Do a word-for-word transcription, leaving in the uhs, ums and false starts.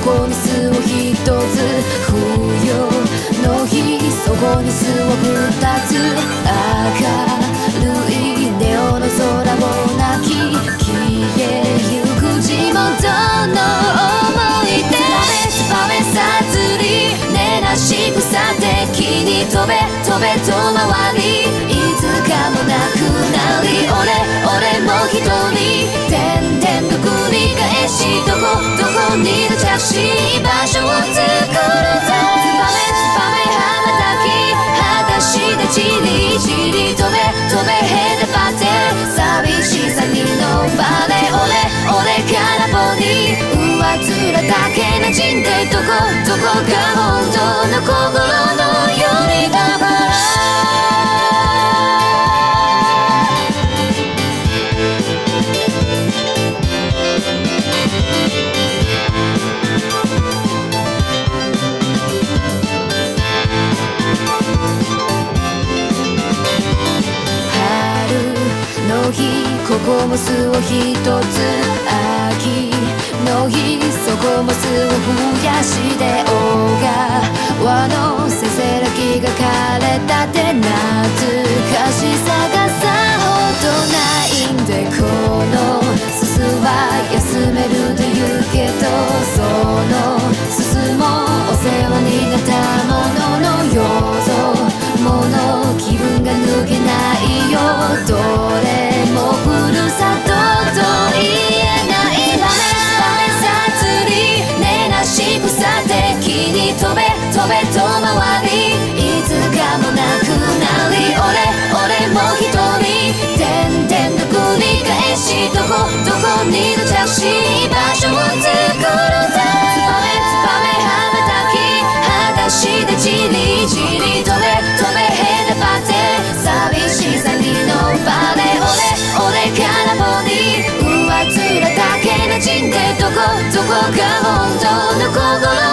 こに巣をひとつ、冬の日そこに巣をふたつ、明るいネオンの空を泣き消えゆく地元の思い出。ツバメさずり根なし草的に飛べ飛べと回り、いつかもなくなり、俺俺も一人点々と繰り返し、どこどこにの着地場所を作るぜ。ツバメツバメ羽ばたき裸足でじりじり飛べ飛べへでばって寂しさにのばれ、俺俺からぼに上面だけなじんで、どこどこが本当の心のよりだから。ここも巣をひとつ、秋の日そこも巣を増やして、小川のせせらぎが枯れたって懐かしさがさほどないんで、このすすは休めると言うけど、そのすすもお世話になったもののよぞもの気分が抜けないよ、どれもふるさとと言えない。ツバメさつり根なし草的に飛べ飛べと回り、いつかもなくなり、俺俺も一人点々と繰り返し、どこどこにの着地場所を作るぜ。ツバメツバメ羽ばたき裸足でじりじり飛べ飛べへでばって寂しさにのばれ、俺俺からぼに上面だけなじんで、どこどこが本当の心